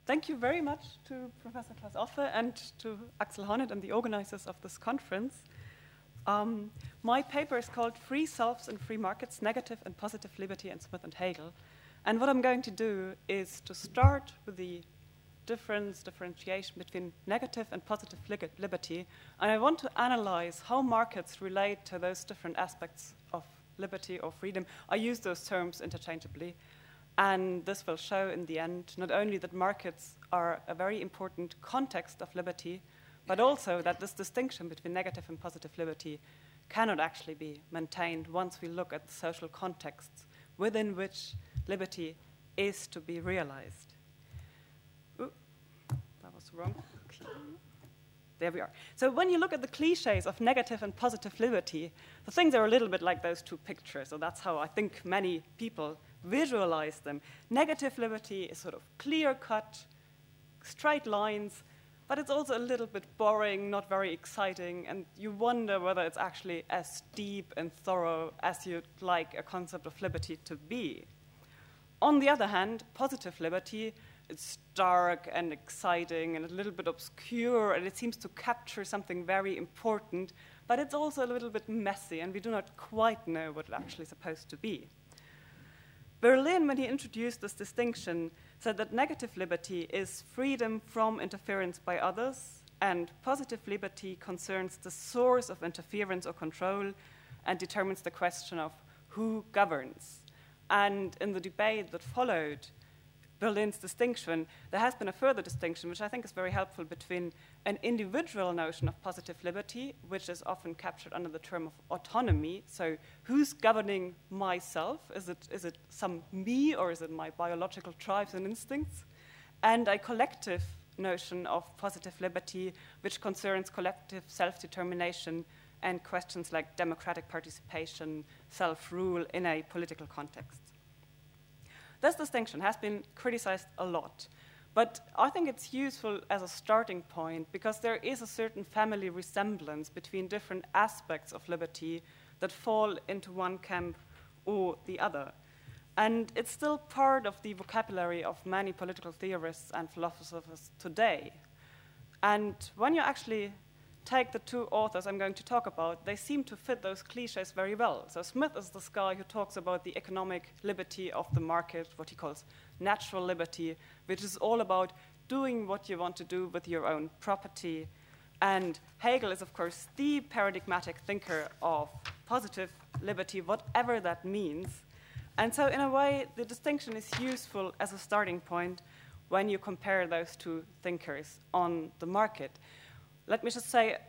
Thank you very much to Professor Klaus Offe and to Axel Honneth and the organizers of this conference. My paper is called Free Selves and Free Markets, Negative and Positive Liberty in Smith and Hegel. And what I'm going to do is to start with the differentiation between negative and positive liberty. And I want to analyze how markets relate to those different aspects of liberty or freedom. I use those terms interchangeably. And this will show in the end not only that markets are a very important context of liberty, but also that this distinction between negative and positive liberty cannot actually be maintained once we look at the social contexts within which liberty is to be realized. Ooh, that was wrong. There we are. So when you look at the cliches of negative and positive liberty, the things are a little bit like those two pictures. So that's how I think many people visualize them. Negative liberty is sort of clear-cut, straight lines, but it's also a little bit boring, not very exciting, and you wonder whether it's actually as deep and thorough as you'd like a concept of liberty to be. On the other hand, positive liberty, it's dark and exciting and a little bit obscure, and it seems to capture something very important, but it's also a little bit messy, and we do not quite know what it's actually supposed to be. Berlin, when he introduced this distinction, said that negative liberty is freedom from interference by others, and positive liberty concerns the source of interference or control and determines the question of who governs. And in the debate that followed Berlin's distinction, there has been a further distinction, which I think is very helpful, between an individual notion of positive liberty, which is often captured under the term of autonomy. So who's governing myself? Is it some me, or is it my biological drives and instincts? And a collective notion of positive liberty, which concerns collective self-determination and questions like democratic participation, self-rule in a political context. This distinction has been criticized a lot, but I think it's useful as a starting point because there is a certain family resemblance between different aspects of liberty that fall into one camp or the other. And it's still part of the vocabulary of many political theorists and philosophers today. And when you actually take the two authors I'm going to talk about, they seem to fit those cliches very well. So Smith is this guy who talks about the economic liberty of the market, what he calls natural liberty, which is all about doing what you want to do with your own property. And Hegel is, of course, the paradigmatic thinker of positive liberty, whatever that means. And so in a way, the distinction is useful as a starting point when you compare those two thinkers on the market. Let me just say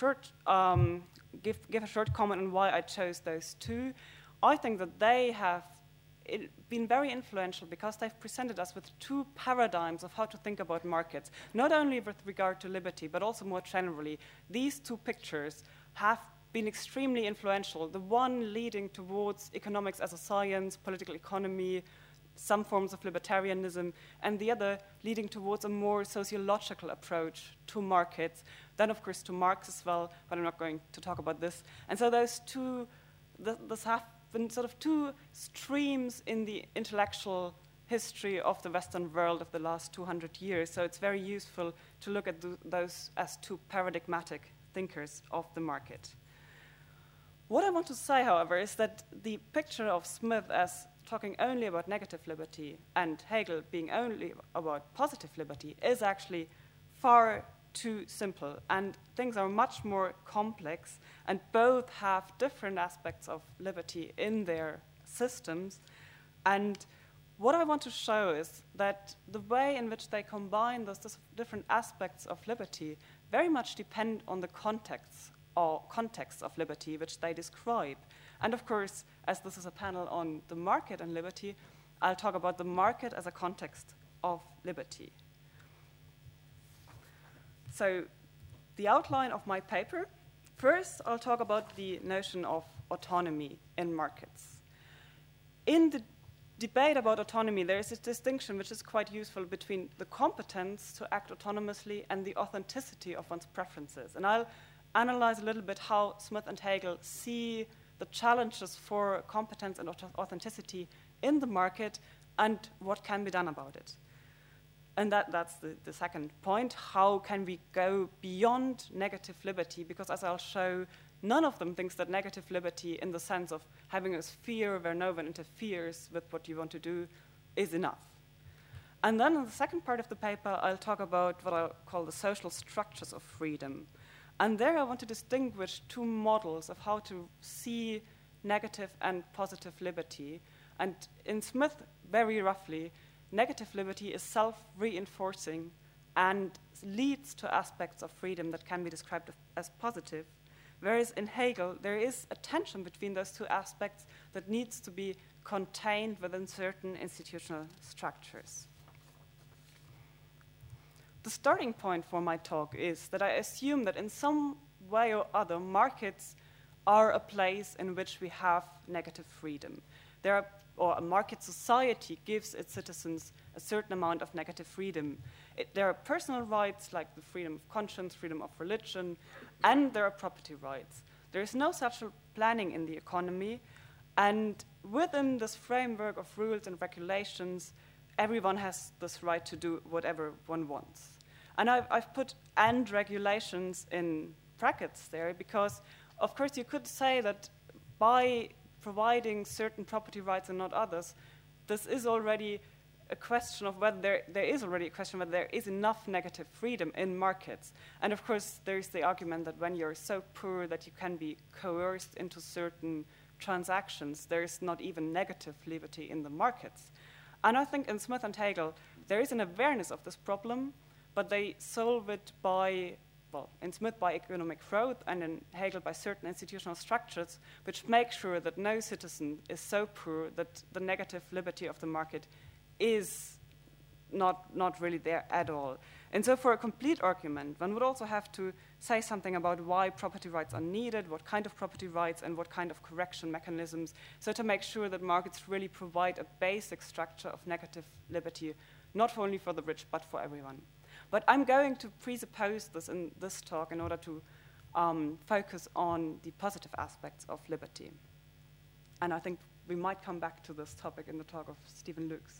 give a short comment on why I chose those two. I think that they have been very influential because they've presented us with two paradigms of how to think about markets, not only with regard to liberty, but also more generally. These two pictures have been extremely influential, the one leading towards economics as a science, political economy, some forms of libertarianism, and the other leading towards a more sociological approach to markets, then of course to Marx as well, but I'm not going to talk about this. And so those two, this have been sort of two streams in the intellectual history of the Western world of the last 200 years, so it's very useful to look at those as two paradigmatic thinkers of the market. What I want to say, however, is that the picture of Smith as talking only about negative liberty and Hegel being only about positive liberty is actually far too simple, and things are much more complex, and both have different aspects of liberty in their systems. And what I want to show is that the way in which they combine those different aspects of liberty very much depend on the contexts of liberty which they describe. And of course, as this is a panel on the market and liberty, I'll talk about the market as a context of liberty. So the outline of my paper, first I'll talk about the notion of autonomy in markets. In the debate about autonomy, there is a distinction which is quite useful between the competence to act autonomously and the authenticity of one's preferences. And I'll analyze a little bit how Smith and Hegel see the challenges for competence and authenticity in the market and what can be done about it. And that's the second point. How can we go beyond negative liberty? Because as I'll show, none of them thinks that negative liberty in the sense of having a sphere where no one interferes with what you want to do is enough. And then in the second part of the paper, I'll talk about what I'll call the social structures of freedom. And there I want to distinguish two models of how to see negative and positive liberty. And in Smith, very roughly, negative liberty is self-reinforcing and leads to aspects of freedom that can be described as positive. Whereas in Hegel, there is a tension between those two aspects that needs to be contained within certain institutional structures. The starting point for my talk is that I assume that in some way or other, markets are a place in which we have negative freedom. Or a market society gives its citizens a certain amount of negative freedom. There are personal rights like the freedom of conscience, freedom of religion, and there are property rights. There is no such planning in the economy, and within this framework of rules and regulations, everyone has this right to do whatever one wants. And I've put "and regulations" in brackets there because, of course, you could say that by providing certain property rights and not others, this is already a question of whether there is enough negative freedom in markets. And of course, there's the argument that when you're so poor that you can be coerced into certain transactions, there is not even negative liberty in the markets. And I think in Smith and Hegel, there is an awareness of this problem, but they solve it by, well, in Smith by economic growth and in Hegel by certain institutional structures, which make sure that no citizen is so poor that the negative liberty of the market is not really there at all. And so for a complete argument, one would also have to say something about why property rights are needed, what kind of property rights, and what kind of correction mechanisms, so to make sure that markets really provide a basic structure of negative liberty, not only for the rich, but for everyone. But I'm going to presuppose this in this talk in order to focus on the positive aspects of liberty. And I think we might come back to this topic in the talk of Stephen Lukes.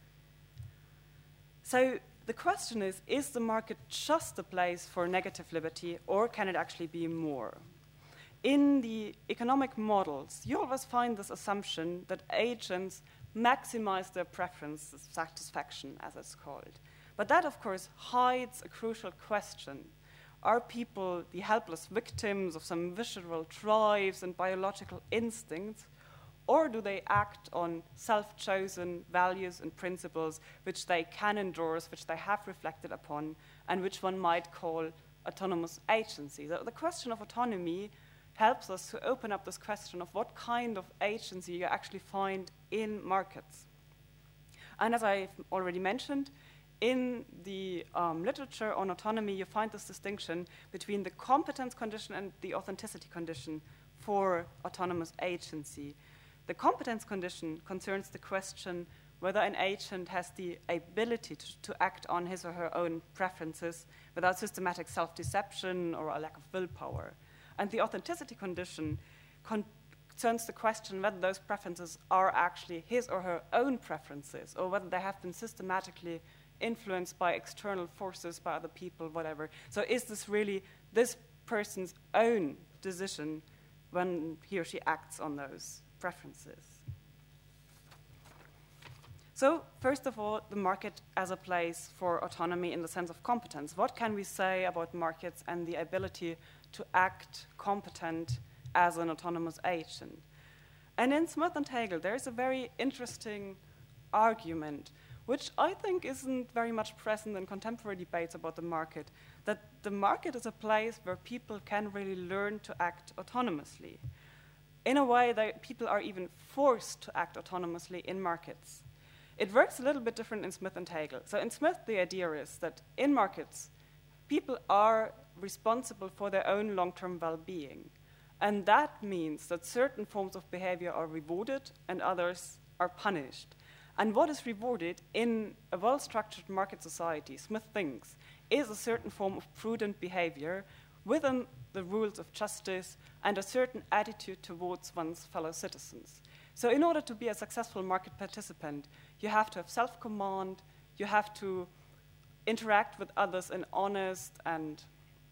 So the question is the market just a place for negative liberty, or can it actually be more? In the economic models, you always find this assumption that agents maximize their preference satisfaction, as it's called. But that, of course, hides a crucial question. Are people the helpless victims of some visceral drives and biological instincts, or do they act on self-chosen values and principles which they can endorse, which they have reflected upon, and which one might call autonomous agency? So the question of autonomy helps us to open up this question of what kind of agency you actually find in markets. And as I've already mentioned, in the literature on autonomy, you find this distinction between the competence condition and the authenticity condition for autonomous agency. The competence condition concerns the question whether an agent has the ability to act on his or her own preferences without systematic self-deception or a lack of willpower. And the authenticity condition concerns the question whether those preferences are actually his or her own preferences, or whether they have been systematically influenced by external forces, by other people, whatever. So is this really this person's own decision when he or she acts on those preferences? So first of all, the market as a place for autonomy in the sense of competence. What can we say about markets and the ability to act competent as an autonomous agent? And in Smith and Hegel, there is a very interesting argument, which I think isn't very much present in contemporary debates about the market, that the market is a place where people can really learn to act autonomously. In a way, people are even forced to act autonomously in markets. It works a little bit different in Smith and Hegel. So in Smith, the idea is that in markets, people are responsible for their own long-term well-being. And that means that certain forms of behavior are rewarded and others are punished. And what is rewarded in a well-structured market society, Smith thinks, is a certain form of prudent behavior within the rules of justice and a certain attitude towards one's fellow citizens. So in order to be a successful market participant, you have to have self-command, you have to interact with others in honest and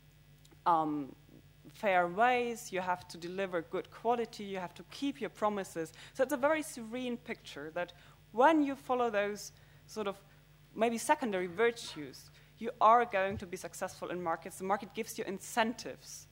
fair ways. You have to deliver good quality. You have to keep your promises. So it's a very serene picture that when you follow those sort of maybe secondary virtues, you are going to be successful in markets. The market gives you incentives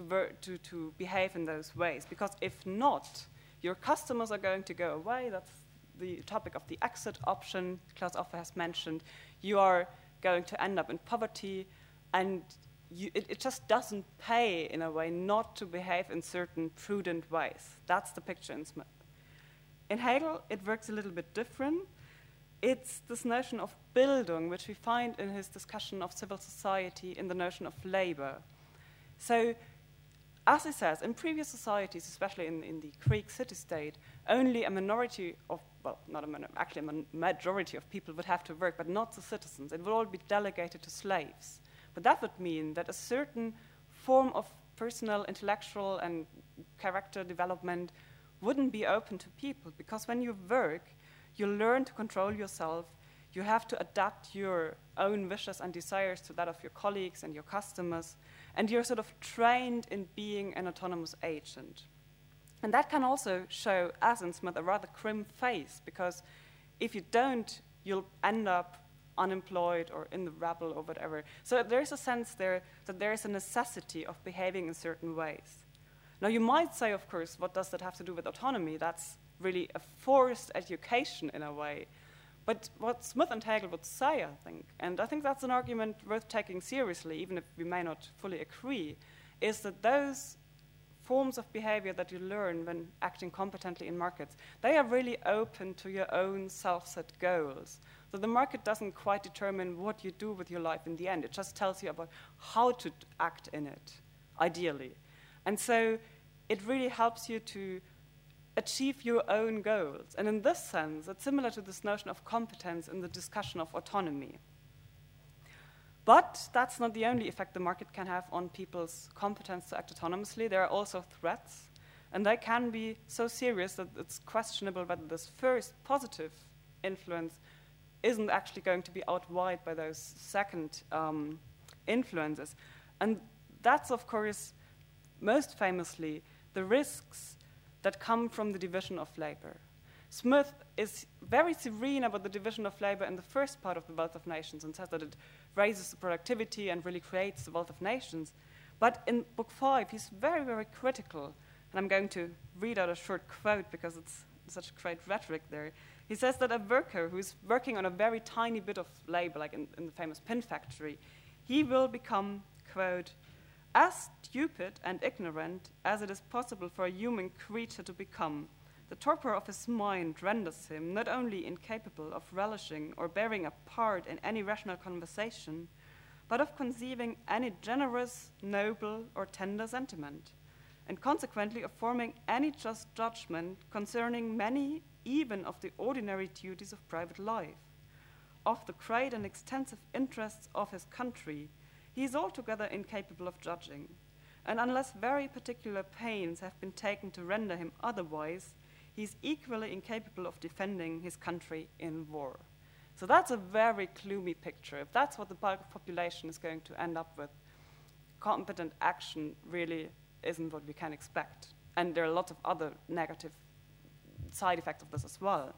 to behave in those ways, because if not, your customers are going to go away. That's the topic of the exit option Klaus Offe has mentioned. You are going to end up in poverty, and it just doesn't pay, in a way, not to behave in certain prudent ways. That's the picture in Smith. In Hegel, it works a little bit different. It's this notion of Bildung, which we find in his discussion of civil society in the notion of labor. So, as he says, in previous societies, especially in the Greek city-state, only a minority of, well, not a minority, actually a majority of people would have to work, but not the citizens. It would all be delegated to slaves. But that would mean that a certain form of personal, intellectual, and character development wouldn't be open to people, because when you work, you learn to control yourself. You have to adapt your own wishes and desires to that of your colleagues and your customers, and you're sort of trained in being an autonomous agent. And that can also show, as in Smith, a rather grim face, because if you don't, you'll end up unemployed or in the rabble or whatever. So there's a sense there that there is a necessity of behaving in certain ways. Now, you might say, of course, what does that have to do with autonomy? That's really a forced education in a way. But what Smith and Hegel would say, I think, and I think that's an argument worth taking seriously, even if we may not fully agree, is that those forms of behavior that you learn when acting competently in markets, they are really open to your own self-set goals. So the market doesn't quite determine what you do with your life in the end. It just tells you about how to act in it, ideally. And so it really helps you to achieve your own goals. And in this sense, it's similar to this notion of competence in the discussion of autonomy. But that's not the only effect the market can have on people's competence to act autonomously. There are also threats, and they can be so serious that it's questionable whether this first positive influence isn't actually going to be outweighed by those second influences. And that's, of course, most famously, the risks that come from the division of labor. Smith is very serene about the division of labor in the first part of The Wealth of Nations and says that it raises the productivity and really creates the wealth of nations. But in Book 5, he's very, very critical. And I'm going to read out a short quote because it's such great rhetoric there. He says that a worker who's working on a very tiny bit of labor, like in the famous pin factory, he will become, quote, as stupid and ignorant as it is possible for a human creature to become. The torpor of his mind renders him not only incapable of relishing or bearing a part in any rational conversation, but of conceiving any generous, noble, or tender sentiment, and consequently of forming any just judgment concerning many, even of the ordinary duties of private life. Of the great and extensive interests of his country, he is altogether incapable of judging, and unless very particular pains have been taken to render him otherwise, he is equally incapable of defending his country in war. So that's a very gloomy picture. If that's what the bulk of population is going to end up with, competent action really isn't what we can expect. And there are lots of other negative side effects of this as well.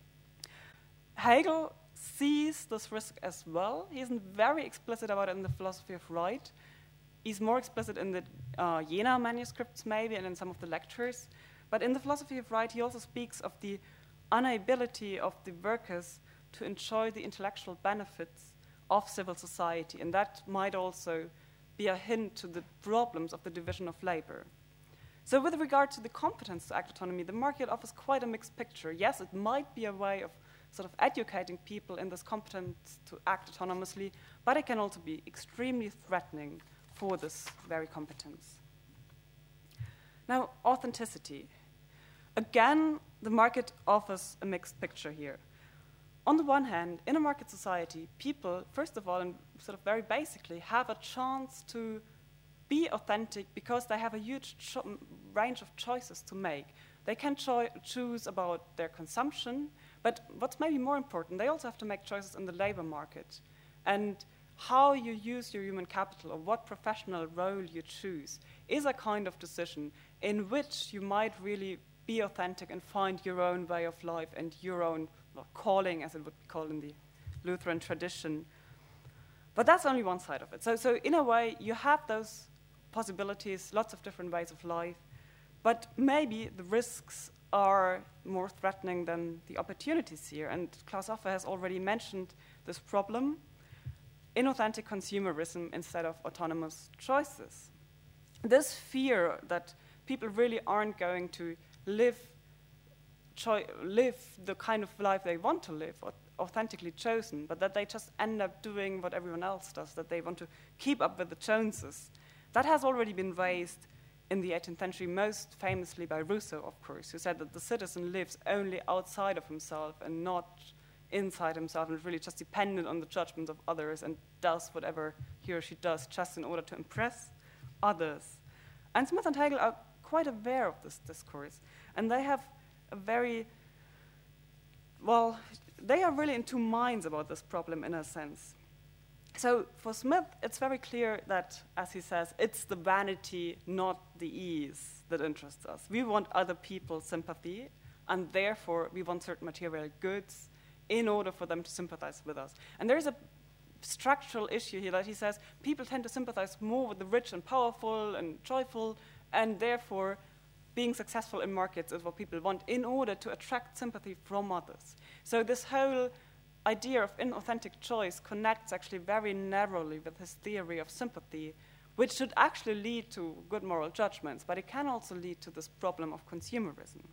Hegel sees this risk as well. He isn't very explicit about it in the Philosophy of Right. He's more explicit in the Jena manuscripts maybe and in some of the lectures. But in the Philosophy of Right, he also speaks of the inability of the workers to enjoy the intellectual benefits of civil society, and that might also be a hint to the problems of the division of labor. So with regard to the competence to act autonomy, the market offers quite a mixed picture. Yes, it might be a way of sort of educating people in this competence to act autonomously, but it can also be extremely threatening for this very competence. Now, authenticity. Again, the market offers a mixed picture here. On the one hand, in a market society, people, first of all, and sort of very basically, have a chance to be authentic because they have a huge range of choices to make. They can choose about their consumption, but what's maybe more important, they also have to make choices in the labor market. And how you use your human capital or what professional role you choose is a kind of decision in which you might really be authentic and find your own way of life and your own calling, as it would be called in the Lutheran tradition. But that's only one side of it. So in a way, you have those possibilities, lots of different ways of life, but maybe the risks are more threatening than the opportunities here. And Klaus Offe has already mentioned this problem: inauthentic consumerism instead of autonomous choices. This fear that people really aren't going to live the kind of life they want to live, or authentically chosen, but that they just end up doing what everyone else does, that they want to keep up with the Joneses. That has already been raised in the 18th century, most famously by Rousseau, of course, who said that the citizen lives only outside of himself and not inside himself, and is really just dependent on the judgments of others and does whatever he or she does just in order to impress others. And Smith and Hegel are quite aware of this discourse, and they have a very, well, they are really in two minds about this problem in a sense. So for Smith, it's very clear that, as he says, it's the vanity, not the ease, that interests us. We want other people's sympathy, and therefore we want certain material goods in order for them to sympathize with us. And there is a structural issue here that he says people tend to sympathize more with the rich and powerful and joyful, and therefore being successful in markets is what people want in order to attract sympathy from others. So this whole idea of inauthentic choice connects actually very narrowly with his theory of sympathy, which should actually lead to good moral judgments, but it can also lead to this problem of consumerism.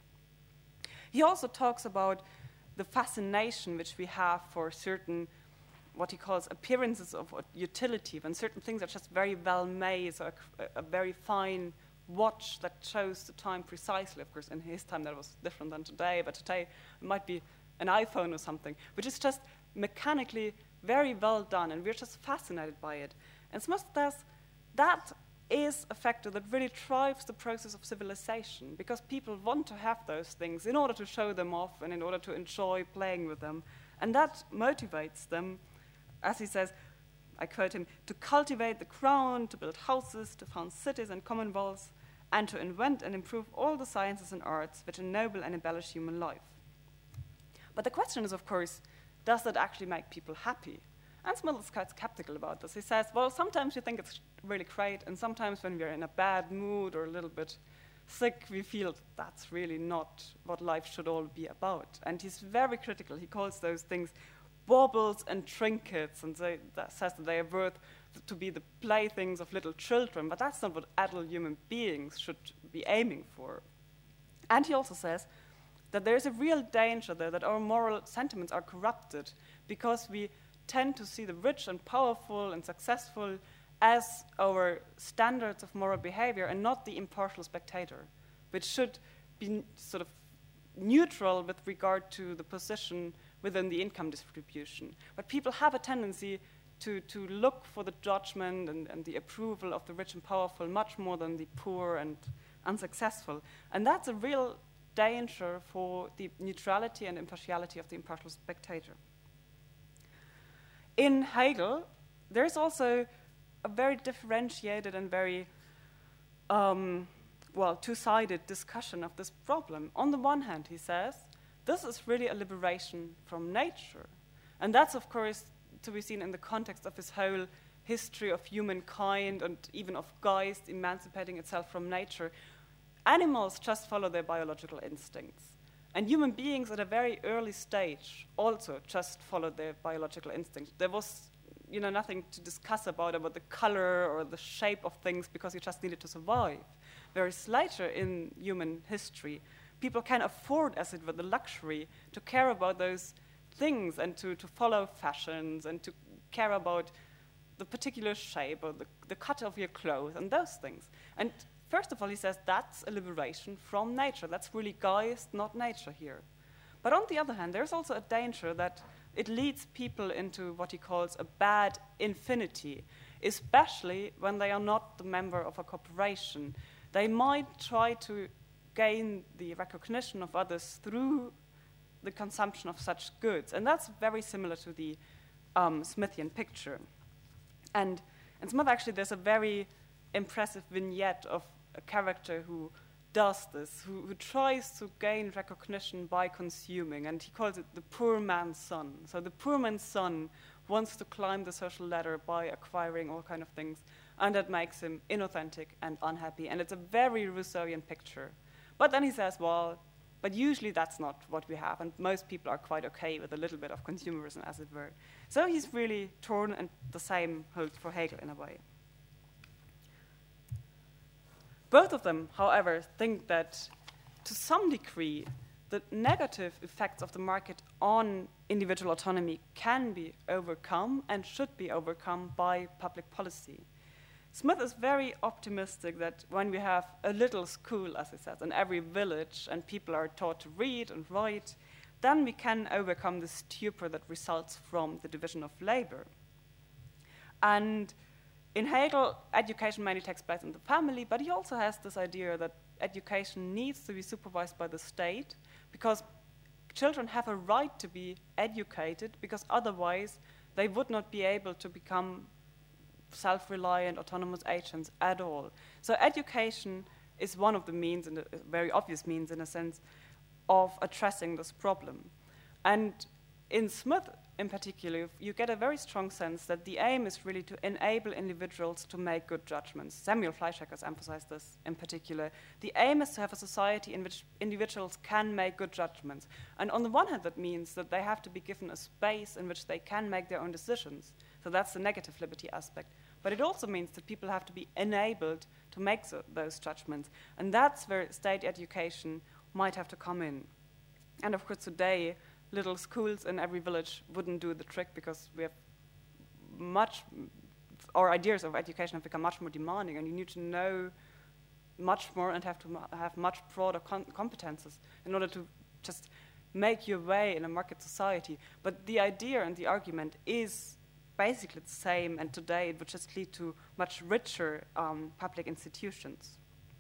He also talks about the fascination which we have for certain, what he calls appearances of utility, when certain things are just very well made, so a very fine watch that shows the time precisely. Of course, in his time that was different than today, but today it might be an iPhone or something, which is just mechanically very well done, and we're just fascinated by it. And Smith says that is a factor that really drives the process of civilization, because people want to have those things in order to show them off and in order to enjoy playing with them. And that motivates them, as he says, I quote him, to cultivate the crown, to build houses, to found cities and commonwealths, and to invent and improve all the sciences and arts which ennoble and embellish human life. But the question is, of course, does that actually make people happy? And Smith is quite skeptical about this. He says, well, sometimes we think it's really great, and sometimes when we're in a bad mood or a little bit sick, we feel that's really not what life should all be about. And he's very critical. He calls those things baubles and trinkets, and says that they are worth to be the playthings of little children, but that's not what adult human beings should be aiming for. And he also says that there's a real danger there that our moral sentiments are corrupted because we tend to see the rich and powerful and successful as our standards of moral behavior and not the impartial spectator, which should be sort of neutral with regard to the position within the income distribution. But people have a tendency to look for the judgment and the approval of the rich and powerful much more than the poor and unsuccessful. And that's a real danger for the neutrality and impartiality of the impartial spectator. In Hegel, there's also a very differentiated and very two-sided discussion of this problem. On the one hand, he says, this is really a liberation from nature. And that's, of course, to be seen in the context of his whole history of humankind and even of Geist emancipating itself from nature. Animals just follow their biological instincts. And human beings at a very early stage also just followed their biological instincts. There was nothing to discuss about the color or the shape of things because you just needed to survive. Whereas later in human history, people can afford, as it were, the luxury to care about those things and to follow fashions and to care about the particular shape or the cut of your clothes and those things. And first of all, he says that's a liberation from nature. That's really Geist, not nature here. But on the other hand, there's also a danger that it leads people into what he calls a bad infinity, especially when they are not the member of a corporation. They might try to gain the recognition of others through the consumption of such goods. And that's very similar to the Smithian picture. And in Smith, actually, there's a very impressive vignette of a character who does this, who tries to gain recognition by consuming, and he calls it the poor man's son. So the poor man's son wants to climb the social ladder by acquiring all kind of things, and that makes him inauthentic and unhappy, and it's a very Rousseauian picture. But then he says, well, but usually that's not what we have, and most people are quite okay with a little bit of consumerism, as it were. So he's really torn, and the same holds for Hegel in a way. Both of them, however, think that to some degree, the negative effects of the market on individual autonomy can be overcome and should be overcome by public policy. Smith is very optimistic that when we have a little school, as he says, in every village, and people are taught to read and write, then we can overcome the stupor that results from the division of labor. And in Hegel, education mainly takes place in the family, but he also has this idea that education needs to be supervised by the state because children have a right to be educated, because otherwise they would not be able to become self-reliant, autonomous agents at all. So education is one of the means, and a very obvious means in a sense, of addressing this problem. And in Smith, in particular, you get a very strong sense that the aim is really to enable individuals to make good judgments. Samuel Fleischhacker has emphasized this in particular. The aim is to have a society in which individuals can make good judgments. And on the one hand, that means that they have to be given a space in which they can make their own decisions. So that's the negative liberty aspect. But it also means that people have to be enabled to make those judgments. And that's where state education might have to come in. And of course, today, little schools in every village wouldn't do the trick, because we have our ideas of education have become much more demanding, and you need to know much more and have to have much broader competences in order to just make your way in a market society. But the idea and the argument is basically the same, and today it would just lead to much richer public institutions.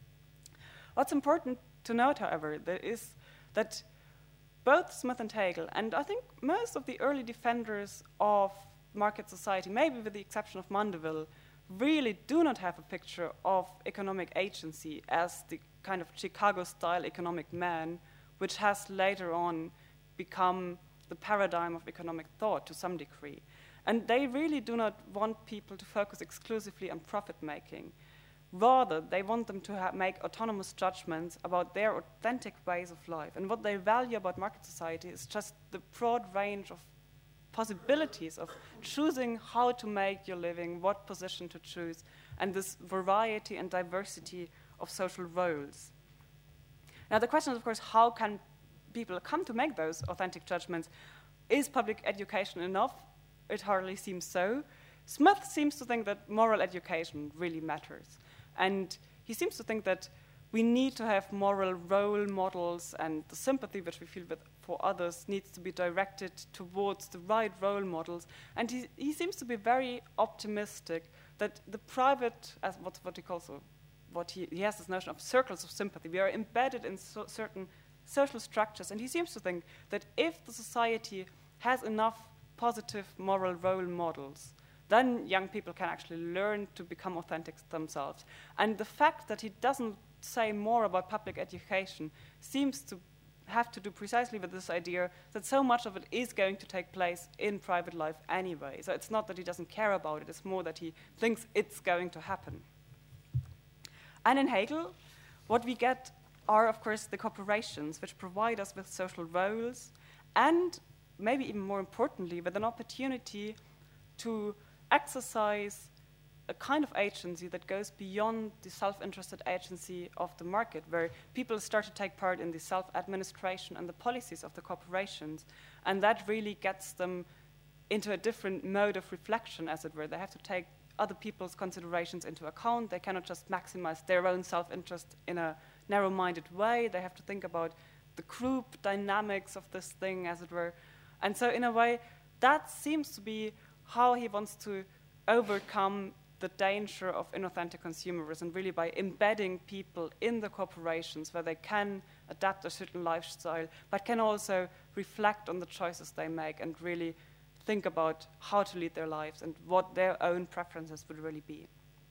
What's important to note, however, is that both Smith and Hegel, and I think most of the early defenders of market society, maybe with the exception of Mandeville, really do not have a picture of economic agency as the kind of Chicago-style economic man, which has later on become the paradigm of economic thought to some degree. And they really do not want people to focus exclusively on profit-making. Rather, they want them to make autonomous judgments about their authentic ways of life. And what they value about market society is just the broad range of possibilities of choosing how to make your living, what position to choose, and this variety and diversity of social roles. Now, the question is, of course, how can people come to make those authentic judgments? Is public education enough? It hardly seems so. Smith seems to think that moral education really matters. And he seems to think that we need to have moral role models, and the sympathy which we feel for others needs to be directed towards the right role models. And he seems to be very optimistic that the private, as what he calls, he has this notion of circles of sympathy. We are embedded in certain social structures, and he seems to think that if the society has enough positive moral role models, then young people can actually learn to become authentic themselves. And the fact that he doesn't say more about public education seems to have to do precisely with this idea that so much of it is going to take place in private life anyway. So it's not that he doesn't care about it, it's more that he thinks it's going to happen. And in Hegel, what we get are, of course, the corporations, which provide us with social roles, and maybe even more importantly, with an opportunity to exercise a kind of agency that goes beyond the self-interested agency of the market, where people start to take part in the self-administration and the policies of the corporations, and that really gets them into a different mode of reflection, as it were. They have to take other people's considerations into account. They cannot just maximize their own self-interest in a narrow-minded way. They have to think about the group dynamics of this thing, as it were. And so in a way, that seems to be how he wants to overcome the danger of inauthentic consumerism, really by embedding people in the corporations where they can adapt a certain lifestyle, but can also reflect on the choices they make and really think about how to lead their lives and what their own preferences would really be.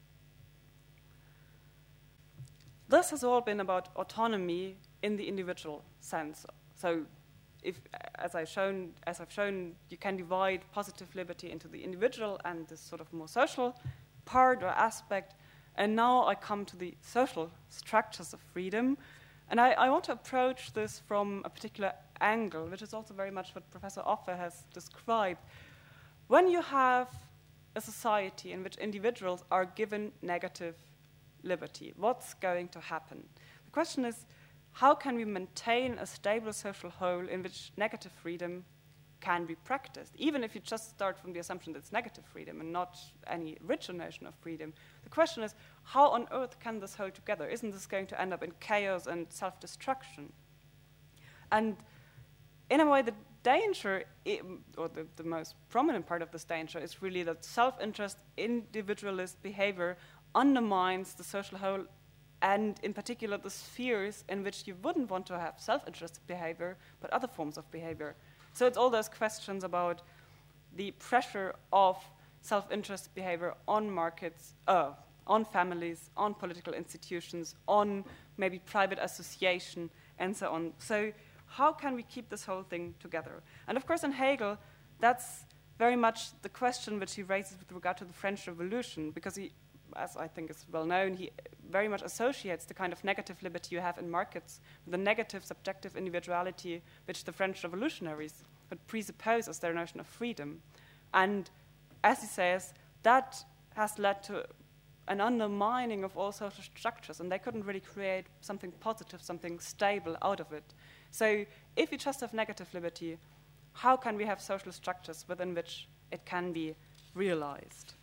This has all been about autonomy in the individual sense. So, as I've shown, you can divide positive liberty into the individual and this sort of more social part or aspect. And now I come to the social structures of freedom. And I want to approach this from a particular angle, which is also very much what Professor Offe has described. When you have a society in which individuals are given negative liberty, what's going to happen? The question is, how can we maintain a stable social whole in which negative freedom can be practiced? Even if you just start from the assumption that it's negative freedom and not any richer notion of freedom, the question is, how on earth can this hold together? Isn't this going to end up in chaos and self-destruction? And in a way, the danger, or the most prominent part of this danger, is really that self-interest, individualist behavior undermines the social whole, and in particular the spheres in which you wouldn't want to have self-interested behavior, but other forms of behavior. So it's all those questions about the pressure of self-interest behavior on markets, on families, on political institutions, on maybe private association, and so on. So how can we keep this whole thing together? And of course, in Hegel, that's very much the question which he raises with regard to the French Revolution, because he, as I think is well known, he very much associates the kind of negative liberty you have in markets with the negative subjective individuality which the French revolutionaries would presuppose as their notion of freedom. And as he says, that has led to an undermining of all social structures, and they couldn't really create something positive, something stable out of it. So if we just have negative liberty, how can we have social structures within which it can be realized?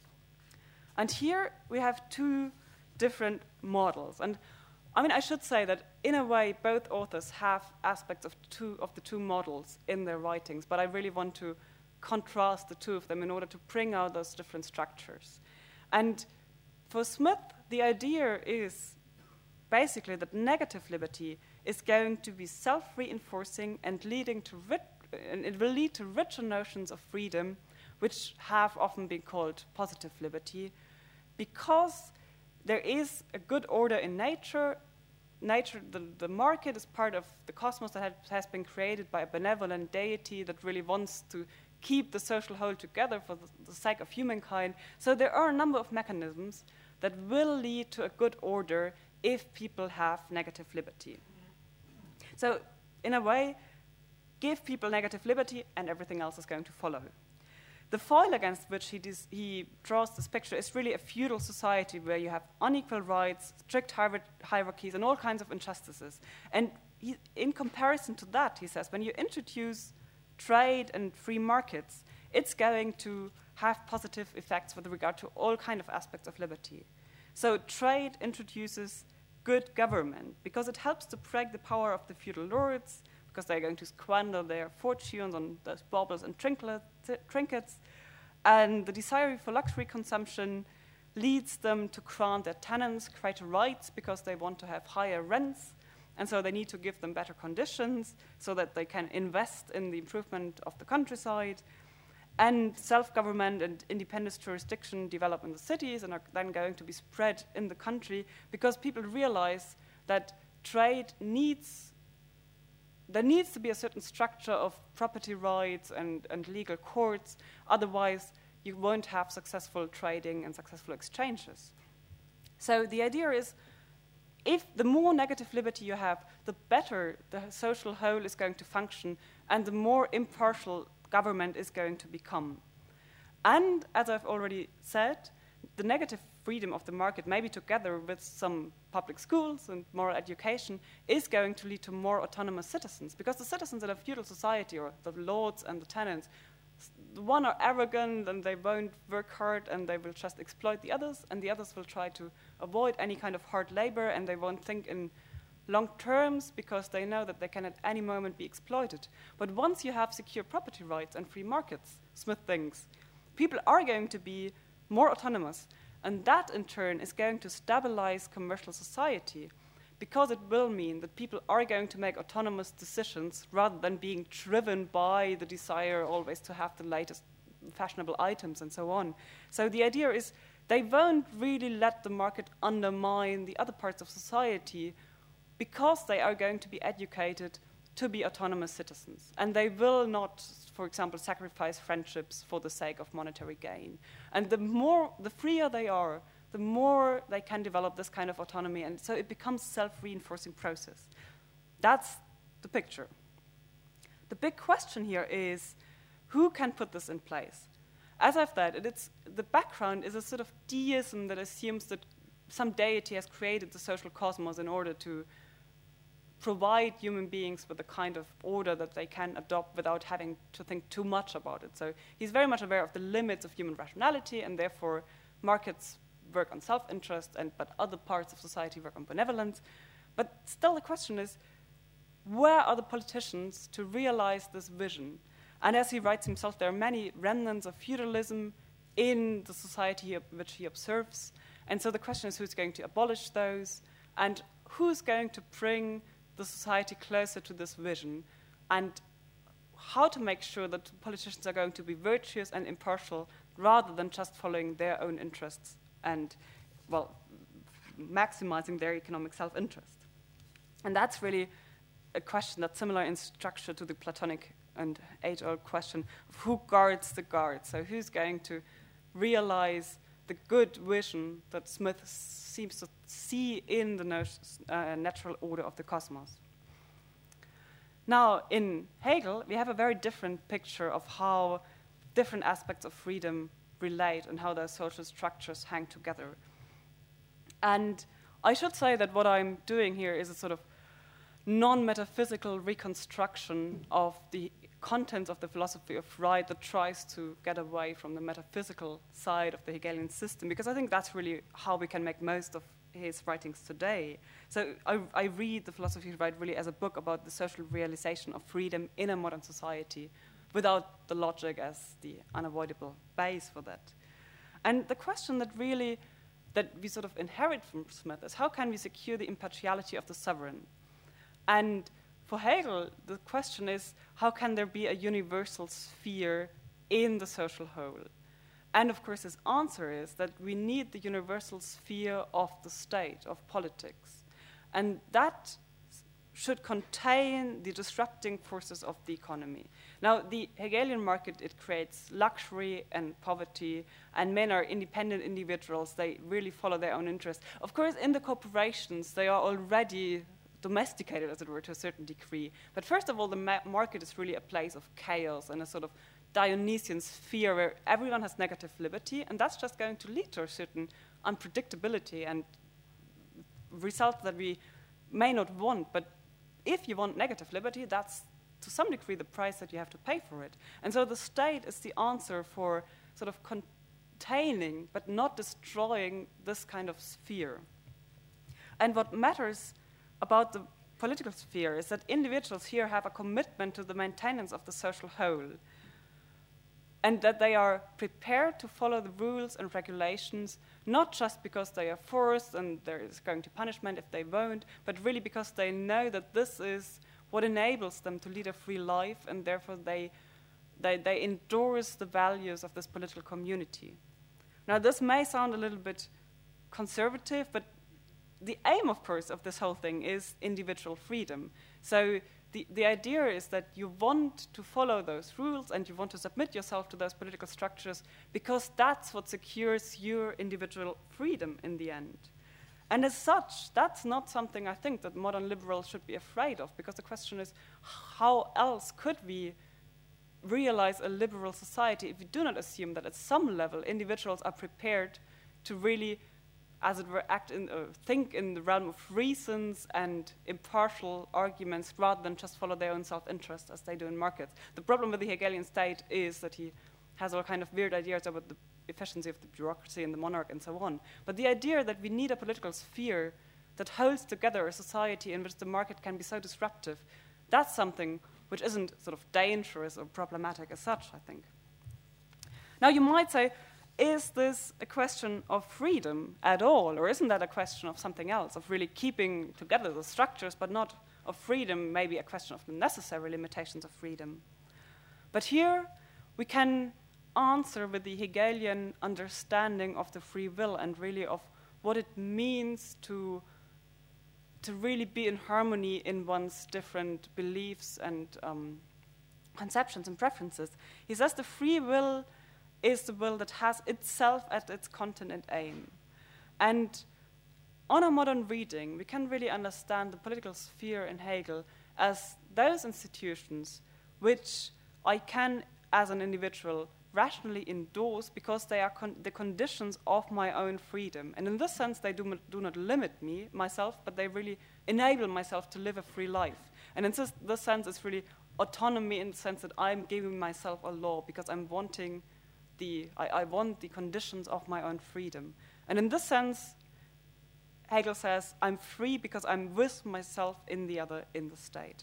And here we have two different models. And I mean, I should say that in a way, both authors have aspects of the two models in their writings, but I really want to contrast the two of them in order to bring out those different structures. And for Smith, the idea is basically that negative liberty is going to be self-reinforcing and and it will lead to richer notions of freedom, which have often been called positive liberty, because there is a good order in nature. The market is part of the cosmos that has been created by a benevolent deity that really wants to keep the social whole together for the sake of humankind. So there are a number of mechanisms that will lead to a good order if people have negative liberty. So in a way, give people negative liberty and everything else is going to follow. The foil against which he draws this picture is really a feudal society where you have unequal rights, strict hierarchies, and all kinds of injustices. And in comparison to that, he says, when you introduce trade and free markets, it's going to have positive effects with regard to all kinds of aspects of liberty. So trade introduces good government because it helps to break the power of the feudal lords, because they're going to squander their fortunes on those baubles and trinkets. And the desire for luxury consumption leads them to grant their tenants greater rights because they want to have higher rents. And so they need to give them better conditions so that they can invest in the improvement of the countryside. And self-government and independent jurisdiction develop in the cities and are then going to be spread in the country because people realize that there needs to be a certain structure of property rights and legal courts. Otherwise, you won't have successful trading and successful exchanges. So the idea is, if the more negative liberty you have, the better the social whole is going to function and the more impartial government is going to become. And as I've already said, the negative freedom of the market, maybe together with some public schools and moral education, is going to lead to more autonomous citizens, because the citizens in a feudal society, or the lords and the tenants, the one are arrogant and they won't work hard and they will just exploit the others, and the others will try to avoid any kind of hard labor and they won't think in long terms because they know that they can at any moment be exploited. But once you have secure property rights and free markets, Smith thinks, people are going to be more autonomous, and that in turn is going to stabilize commercial society, because it will mean that people are going to make autonomous decisions rather than being driven by the desire always to have the latest fashionable items and so on. So the idea is they won't really let the market undermine the other parts of society because they are going to be educated to be autonomous citizens. And they will not, for example, sacrifice friendships for the sake of monetary gain. And the freer they are, the more they can develop this kind of autonomy. And so it becomes a self-reinforcing process. That's the picture. The big question here is, who can put this in place? As I've said, the background is a sort of deism that assumes that some deity has created the social cosmos in order to provide human beings with a kind of order that they can adopt without having to think too much about it. So he's very much aware of the limits of human rationality, and therefore markets work on self-interest, but other parts of society work on benevolence. But still the question is, where are the politicians to realize this vision? And as he writes himself, there are many remnants of feudalism in the society which he observes. And so the question is, who's going to abolish those? And who's going to bring the society closer to this vision? And how to make sure that politicians are going to be virtuous and impartial rather than just following their own interests and, well, maximizing their economic self-interest. And that's really a question that's similar in structure to the Platonic and age-old question of who guards the guards. So who's going to realize the good vision that Smith seems to see in the natural order of the cosmos. Now, in Hegel, we have a very different picture of how different aspects of freedom relate and how their social structures hang together. And I should say that what I'm doing here is a sort of non-metaphysical reconstruction of the contents of the philosophy of right that tries to get away from the metaphysical side of the Hegelian system, because I think that's really how we can make most of his writings today. So I read the philosophy of right really as a book about the social realization of freedom in a modern society without the logic as the unavoidable base for that. And the question that we sort of inherit from Smith is, how can we secure the impartiality of the sovereign? And for Hegel, the question is, how can there be a universal sphere in the social whole? And of course, his answer is that we need the universal sphere of the state, of politics. And that should contain the disrupting forces of the economy. Now, the Hegelian market, it creates luxury and poverty, and men are independent individuals. They really follow their own interests. Of course, in the corporations, they are already domesticated, as it were, to a certain degree. But first of all, the market is really a place of chaos and a sort of Dionysian sphere where everyone has negative liberty, and that's just going to lead to a certain unpredictability and results that we may not want. But if you want negative liberty, that's to some degree the price that you have to pay for it. And so the state is the answer for sort of containing but not destroying this kind of sphere. And what matters about the political sphere is that individuals here have a commitment to the maintenance of the social whole, and that they are prepared to follow the rules and regulations, not just because they are forced and there is going to punishment if they won't, but really because they know that this is what enables them to lead a free life, and therefore they endorse the values of this political community. Now, this may sound a little bit conservative, but the aim, of course, of this whole thing is individual freedom. So the idea is that you want to follow those rules and you want to submit yourself to those political structures because that's what secures your individual freedom in the end. And as such, that's not something I think that modern liberals should be afraid of, because the question is, how else could we realize a liberal society if we do not assume that at some level individuals are prepared to really, as it were, think in the realm of reasons and impartial arguments rather than just follow their own self-interest as they do in markets. The problem with the Hegelian state is that he has all kind of weird ideas about the efficiency of the bureaucracy and the monarch and so on. But the idea that we need a political sphere that holds together a society in which the market can be so disruptive, that's something which isn't sort of dangerous or problematic as such, I think. Now, you might say, is this a question of freedom at all, or isn't that a question of something else, of really keeping together the structures, but not of freedom, maybe a question of the necessary limitations of freedom? But here we can answer with the Hegelian understanding of the free will and really of what it means to really be in harmony in one's different beliefs and conceptions and preferences. He says the free will is the will that has itself at its content and aim. And on a modern reading, we can really understand the political sphere in Hegel as those institutions which I can, as an individual, rationally endorse because they are the conditions of my own freedom. And in this sense, they do not limit myself, but they really enable myself to live a free life. And in this sense, it's really autonomy in the sense that I'm giving myself a law because I'm wanting I want the conditions of my own freedom. And in this sense, Hegel says, I'm free because I'm with myself in the state.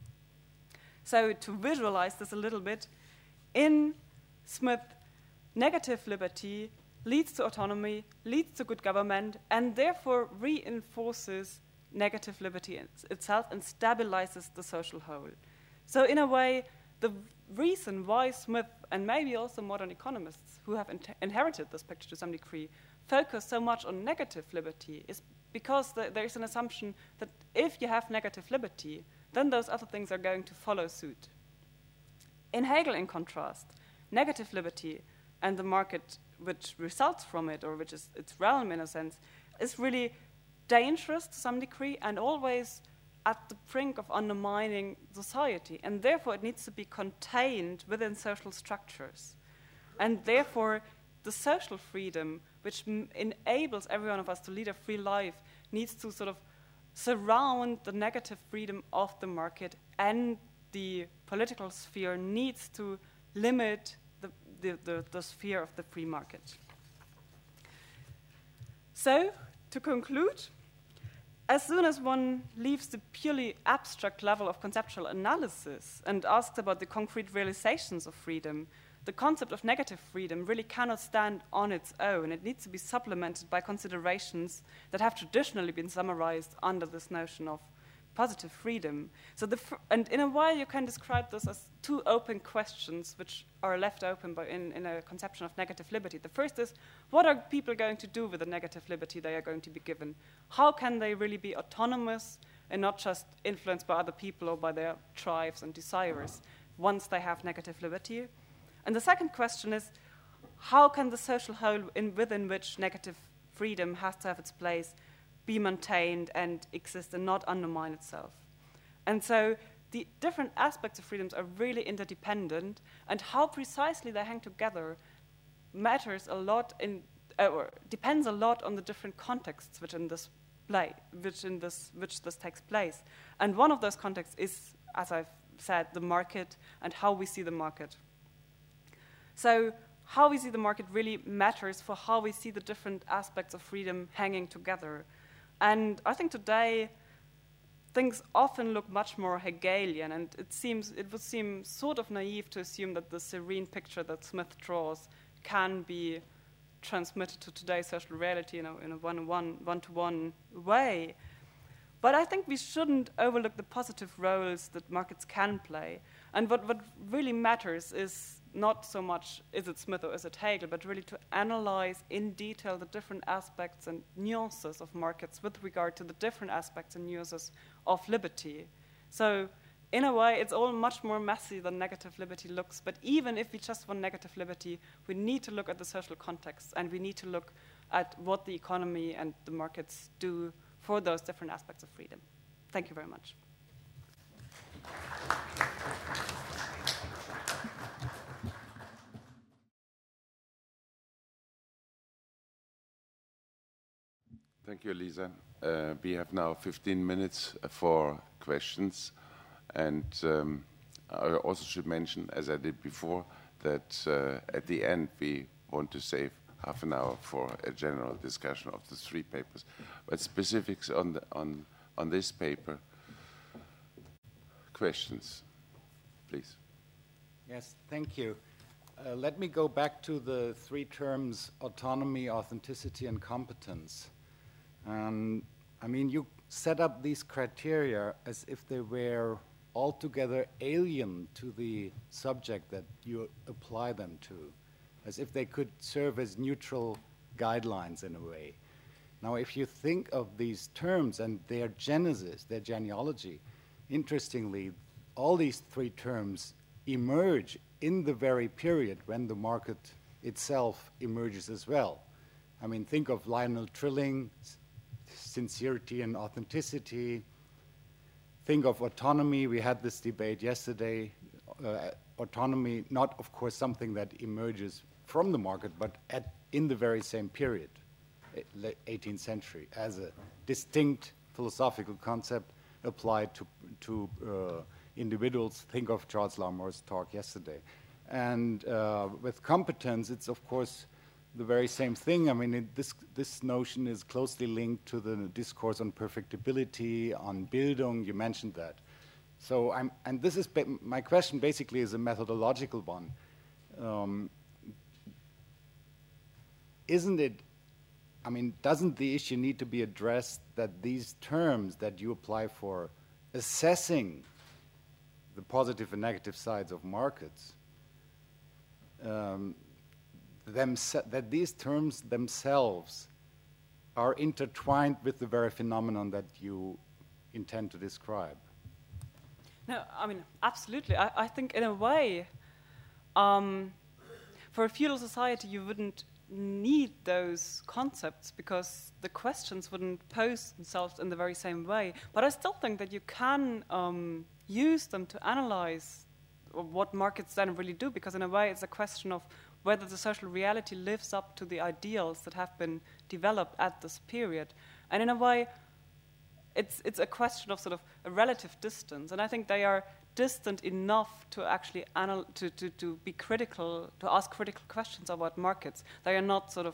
So to visualize this a little bit, in Smith, negative liberty leads to autonomy, leads to good government, and therefore reinforces negative liberty itself and stabilizes the social whole. So in a way, the reason why Smith, and maybe also modern economists who have inherited this picture to some degree, focus so much on negative liberty is because there is an assumption that if you have negative liberty, then those other things are going to follow suit. In Hegel, in contrast, negative liberty and the market which results from it, or which is its realm in a sense, is really dangerous to some degree and always at the brink of undermining society. And therefore, it needs to be contained within social structures. And therefore, the social freedom, which enables every one of us to lead a free life, needs to sort of surround the negative freedom of the market, and the political sphere needs to limit the sphere of the free market. So, to conclude, as soon as one leaves the purely abstract level of conceptual analysis and asks about the concrete realizations of freedom, the concept of negative freedom really cannot stand on its own. It needs to be supplemented by considerations that have traditionally been summarized under this notion of positive freedom. So, and in a way, you can describe this as two open questions which are left open in a conception of negative liberty. The first is, what are people going to do with the negative liberty they are going to be given? How can they really be autonomous and not just influenced by other people or by their drives and desires once they have negative liberty? And the second question is, how can the social whole within which negative freedom has to have its place be maintained and exist and not undermine itself? And so the different aspects of freedoms are really interdependent, and how precisely they hang together matters a lot or depends a lot on the different contexts which this takes place. And one of those contexts is, as I've said, the market and how we see the market. So how we see the market really matters for how we see the different aspects of freedom hanging together. And I think today things often look much more Hegelian, and it would seem sort of naive to assume that the serene picture that Smith draws can be transmitted to today's social reality in a one-to-one way. But I think we shouldn't overlook the positive roles that markets can play. And what really matters is not so much is it Smith or is it Hegel, but really to analyze in detail the different aspects and nuances of markets with regard to the different aspects and nuances of liberty. So in a way, it's all much more messy than negative liberty looks. But even if we just want negative liberty, we need to look at the social context, and we need to look at what the economy and the markets do for those different aspects of freedom. Thank you very much. Thank you, Lisa. We have now 15 minutes for questions. And I also should mention, as I did before, that at the end we want to save half an hour for a general discussion of the three papers. But specifics on this paper, questions, please. Yes, thank you. Let me go back to the three terms: autonomy, authenticity, and competence. I mean, you set up these criteria as if they were altogether alien to the subject that you apply them to, as if they could serve as neutral guidelines in a way. Now, if you think of these terms and their genesis, their genealogy, interestingly, all these three terms emerge in the very period when the market itself emerges as well. I mean, think of Lionel Trilling, sincerity and authenticity. Think of autonomy. We had this debate yesterday. Autonomy, not, of course, something that emerges from the market, but in the very same period, 18th century, as a distinct philosophical concept applied to individuals. Think of Charles Larmore's talk yesterday. And with competence, it's, of course, the very same thing. I mean, this notion is closely linked to the discourse on perfectibility, on Bildung. You mentioned that. So, and this is my question. Basically, is a methodological one. Isn't it? I mean, doesn't the issue need to be addressed that these terms that you apply for assessing the positive and negative sides of markets, that these terms themselves are intertwined with the very phenomenon that you intend to describe? No, I mean, absolutely. I think in a way, for a feudal society, you wouldn't need those concepts because the questions wouldn't pose themselves in the very same way. But I still think that you can use them to analyze what markets then really do, because in a way it's a question of whether the social reality lives up to the ideals that have been developed at this period. And in a way, it's a question of sort of a relative distance. And I think they are distant enough to actually to be critical, to ask critical questions about markets. They are not sort of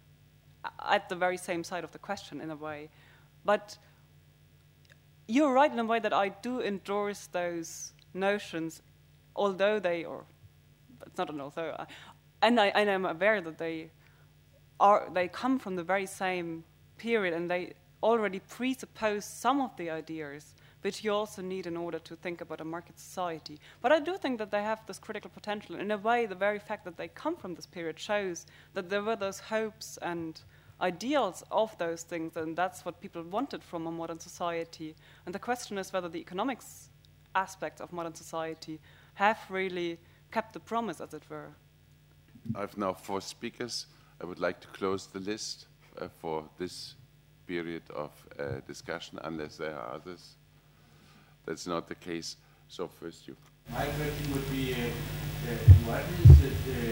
at the very same side of the question in a way. But you're right in a way that I do endorse those notions, although it's not an although, and I am aware that they come from the very same period, and they already presuppose some of the ideas which you also need in order to think about a market society. But I do think that they have this critical potential. In a way, the very fact that they come from this period shows that there were those hopes and ideals of those things, and that's what people wanted from a modern society. And the question is whether the economics aspects of modern society have really kept the promise, as it were. I have now 4 speakers. I would like to close the list for this period of discussion, unless there are others. That's not the case. So first you. My question would be, what is the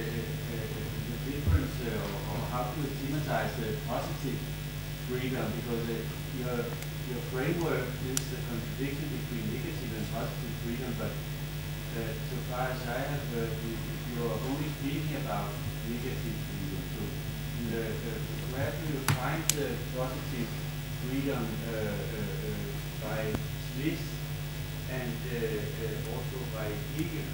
difference, or how to thematize the positive freedom? Because your framework is the contradiction between negative and positive freedom, but so far as I have heard, you're only speaking about negative freedom. So where do you find the positive freedom by Smith and also by Hegel?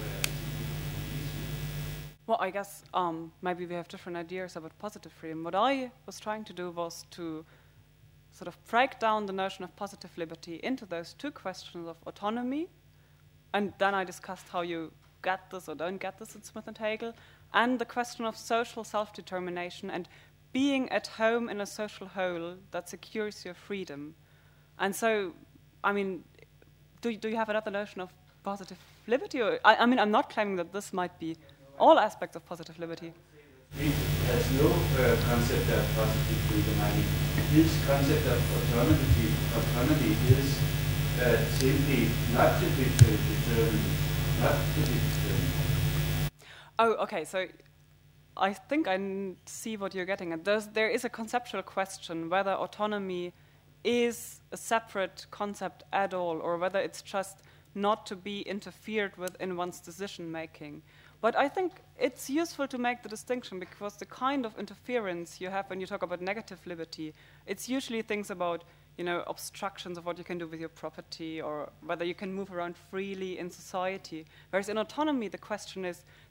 Well, I guess maybe we have different ideas about positive freedom. What I was trying to do was to sort of break down the notion of positive liberty into those 2 questions of autonomy, and then I discussed how you get this or don't get this in Smith and Hegel, and the question of social self-determination and being at home in a social whole that secures your freedom. And so, I mean, do you have another notion of positive liberty? Or, I mean, I'm not claiming that this might be all aspects of positive liberty. There's no concept of positive freedom. I mean, this concept of autonomy is simply not to be determined, not to be determined. Oh, okay, so I think I see what you're getting at. There is a conceptual question whether autonomy is a separate concept at all, or whether it's just not to be interfered with in one's decision-making. But I think it's useful to make the distinction, because the kind of interference you have when you talk about negative liberty, it's usually things about, you know, obstructions of what you can do with your property, or whether you can move around freely in society. Whereas in autonomy, the question is sort of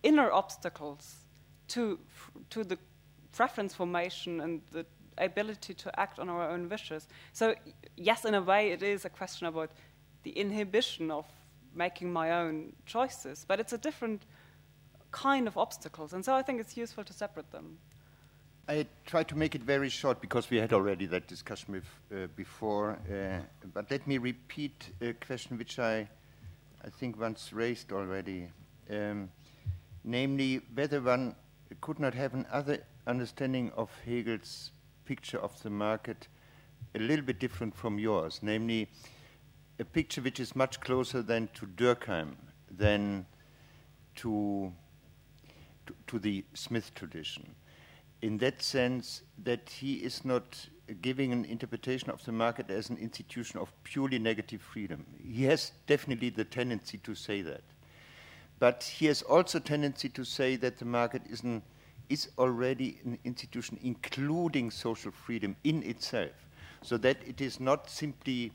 inner obstacles to the preference formation and the ability to act on our own wishes. So yes, in a way, it is a question about the inhibition of making my own choices, but it's a different kind of obstacles, and so I think it's useful to separate them. I try to make it very short because we had already that discussion with, before, but let me repeat a question which I think once raised already, namely whether one could not have another understanding of Hegel's picture of the market a little bit different from yours, namely a picture which is much closer than to Durkheim than to the Smith tradition. In that sense, that he is not giving an interpretation of the market as an institution of purely negative freedom. He has definitely the tendency to say that. But he has also a tendency to say that the market is already an institution including social freedom in itself, so that it is not simply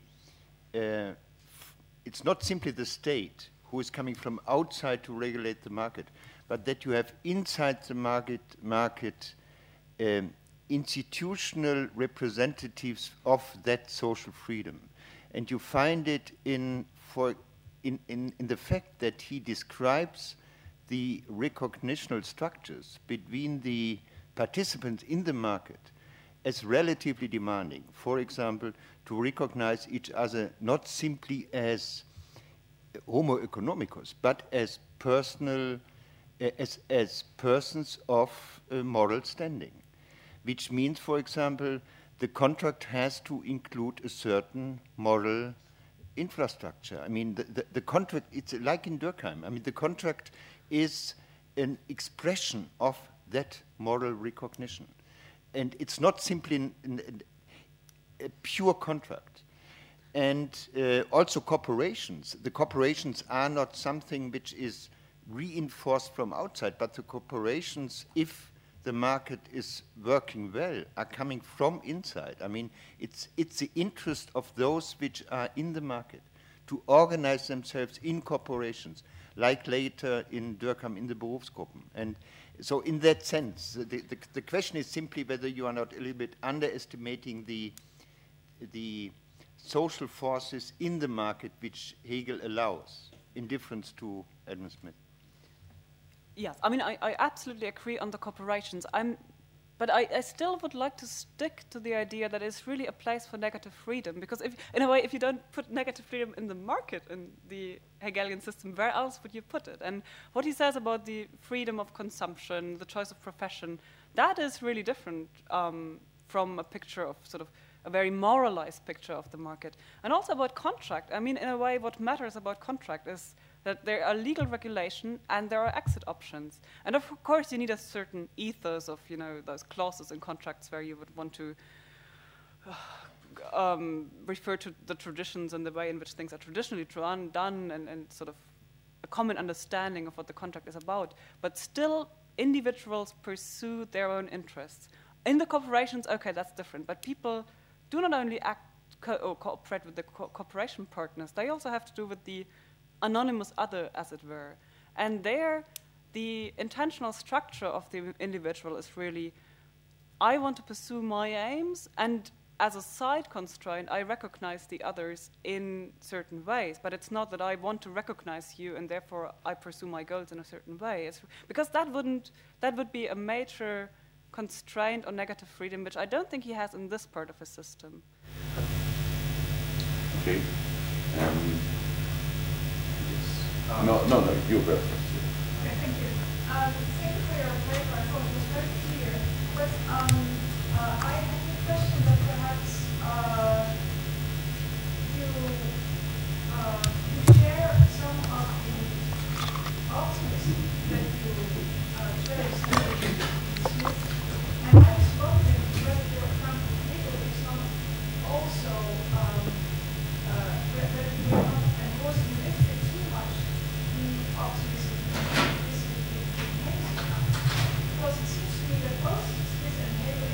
it's not simply the state who is coming from outside to regulate the market, but that you have inside the market institutional representatives of that social freedom. And you find it in the fact that he describes the recognitional structures between the participants in the market as relatively demanding. For example, to recognize each other not simply as homo economicus, but as personal, as persons of moral standing. Which means, for example, the contract has to include a certain moral infrastructure. I mean, the contract, it's like in Durkheim. I mean, the contract is an expression of that moral recognition. And it's not simply a pure contract. And also corporations. The corporations are not something which is reinforced from outside, but the corporations, if the market is working well, are coming from inside. I mean, it's the interest of those which are in the market to organize themselves in corporations, like later in Durkheim in the Berufsgruppen. And so in that sense, the question is simply whether you are not a little bit underestimating the social forces in the market which Hegel allows, in difference to Adam Smith. Yes, I mean, I absolutely agree on the corporations. But I still would like to stick to the idea that it's really a place for negative freedom, because in a way, if you don't put negative freedom in the market, in the Hegelian system, where else would you put it? And what he says about the freedom of consumption, the choice of profession, that is really different from a picture of sort of a very moralized picture of the market. And also about contract. I mean, in a way, what matters about contract is that there are legal regulation and there are exit options. And of course, you need a certain ethos of, those clauses in contracts where you would want to refer to the traditions and the way in which things are traditionally done and sort of a common understanding of what the contract is about. But still, individuals pursue their own interests. In the corporations, okay, that's different. But people do not only act or cooperate with the cooperation partners, they also have to do with the anonymous other, as it were. And there, the intentional structure of the individual is really, I want to pursue my aims, and as a side constraint, I recognize the others in certain ways. But it's not that I want to recognize you, and therefore I pursue my goals in a certain way. Because that would be a major constraint on negative freedom, which I don't think he has in this part of his system. Okay. No, you go first. Okay, thank you. Thank you for your paper. I thought it was very clear. But I have a question that perhaps you share some of the optimism that you traced in Smith. And I was wondering whether your account of Hegel is not also whether you are not endorsing lifting too much optimism and pessimism in Hegel's account. Because it seems to me that both Smith and Hegel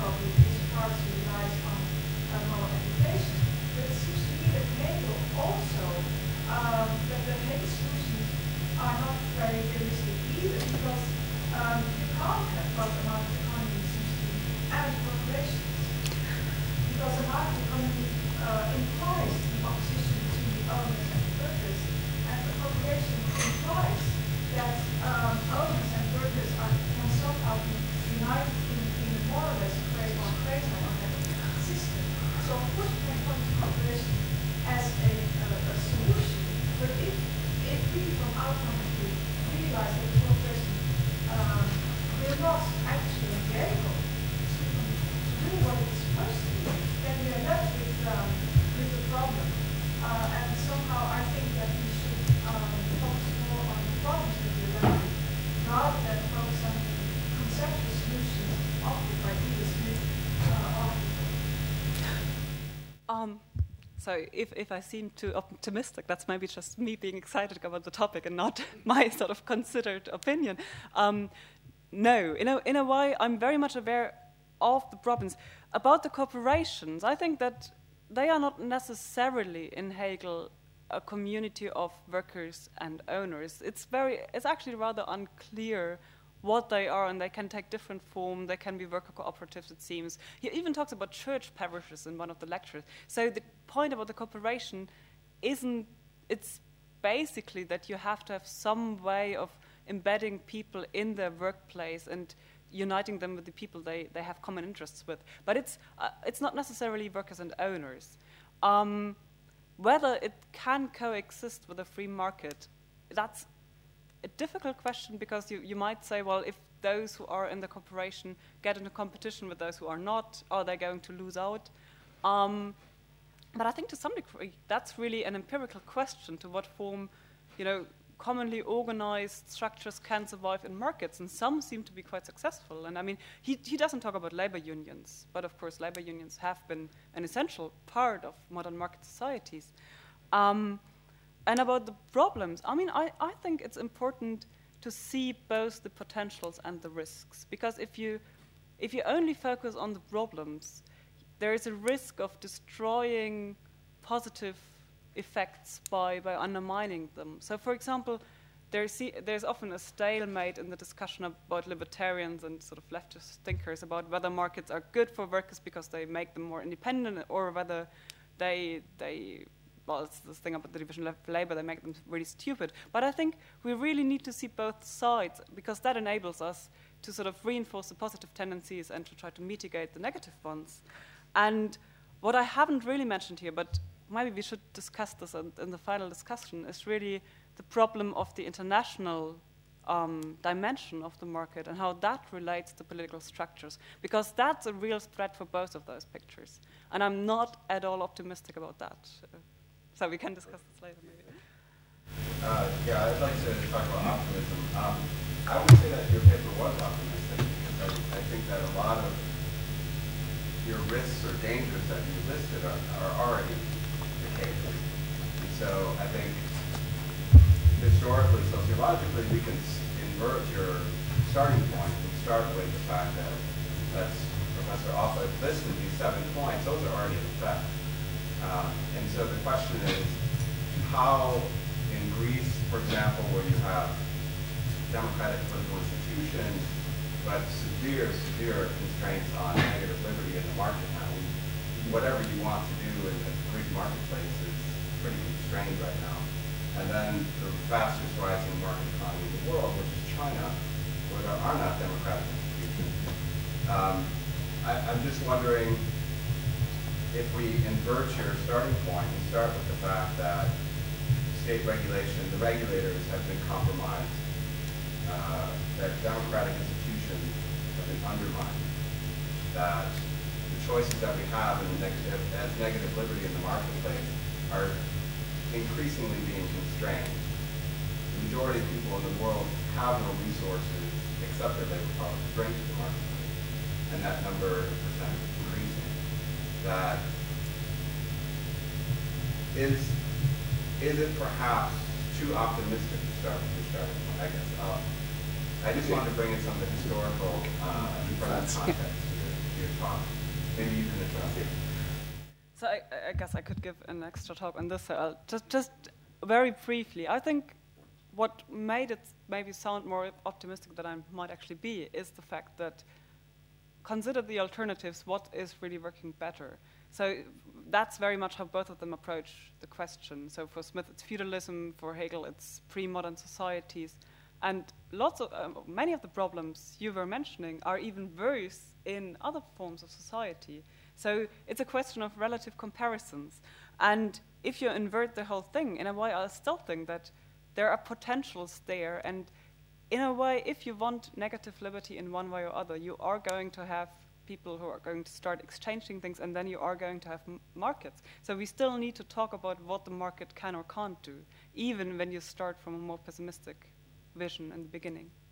probably this party relies on moral education. But it seems to me that Hegel also, that the Hegel solutions are not very realistic either, because you can't have both a market economy, seems to me, and corporations. Because a market economy implies the opposition to the owners and workers, and the corporation implies that owners and workers can somehow be united in a more or less quasi-monetary system. So of course you can point to corporation as a solution, but if we from our point of view realize that the corporation will not actually be able to do what it's supposed to do, then we are left with the problem. And somehow I think that we should focus more on the problems that we're left with, rather than focus on the conceptual solutions offered by Edith Smith article. So if I seem too optimistic, that's maybe just me being excited about the topic and not my sort of considered opinion. No, in a way, I'm very much aware of the problems. About the corporations, I think that they are not necessarily in Hegel a community of workers and owners. It's actually rather unclear what they are, and they can take different form. They can be worker cooperatives, it seems. He even talks about church parishes in one of the lectures. So the point about the corporation it's basically that you have to have some way of embedding people in their workplace and uniting them with the people they have common interests with. But it's not necessarily workers and owners. Whether it can coexist with a free market, that's a difficult question, because you might say, well, if those who are in the corporation get into competition with those who are not, are they going to lose out? But I think to some degree that's really an empirical question, to what form, commonly organized structures can survive in markets, and some seem to be quite successful. And I mean, he doesn't talk about labor unions, but of course labor unions have been an essential part of modern market societies. And about the problems, I mean, I think it's important to see both the potentials and the risks, because if you only focus on the problems, there is a risk of destroying positive effects by undermining them. So, for example, there's often a stalemate in the discussion about libertarians and sort of leftist thinkers about whether markets are good for workers because they make them more independent, or whether well, it's this thing about the division of labor, they make them really stupid. But I think we really need to see both sides, because that enables us to sort of reinforce the positive tendencies and to try to mitigate the negative ones. And what I haven't really mentioned here, but maybe we should discuss this in the final discussion, is really the problem of the international dimension of the market and how that relates to political structures, because that's a real threat for both of those pictures. And I'm not at all optimistic about that. So we can discuss this later, maybe. Yeah, I'd like to talk about optimism. I would say that your paper was optimistic, because I think that a lot of your risks or dangers that you listed are already the case. And so I think historically, sociologically, we can invert your starting point and start with the fact that, as Professor Offa listed, these 7 points, those are already in effect. And so the question is, how in Greece, for example, where you have democratic political institutions, but severe constraints on negative liberty in the market now, whatever you want to do in the Greek marketplace is pretty constrained right now. And then the fastest rising market economy in the world, which is China, where there are not democratic institutions. I'm just wondering, if we invert your starting point and start with the fact that state regulation, the regulators have been compromised, that democratic institutions have been undermined, that the choices that we have as negative liberty in the marketplace are increasingly being constrained. The majority of people in the world have no resources except their labor power to bring to the marketplace, and that number is percentage is increasing. That is it perhaps too optimistic to start with your starting point? I guess I just wanted to bring in some of the historical context to your talk. Maybe you can address it. So I guess I could give an extra talk on this. So I'll just very briefly, I think what made it maybe sound more optimistic than I might actually be is the fact that consider the alternatives, what is really working better. So that's very much how both of them approach the question. So for Smith, it's feudalism. For Hegel, it's pre-modern societies. And many of the problems you were mentioning are even worse in other forms of society. So it's a question of relative comparisons. And if you invert the whole thing, in a way, I still think that there are potentials there. And in a way, if you want negative liberty in one way or other, you are going to have people who are going to start exchanging things, and then you are going to have markets. So we still need to talk about what the market can or can't do, even when you start from a more pessimistic vision in the beginning.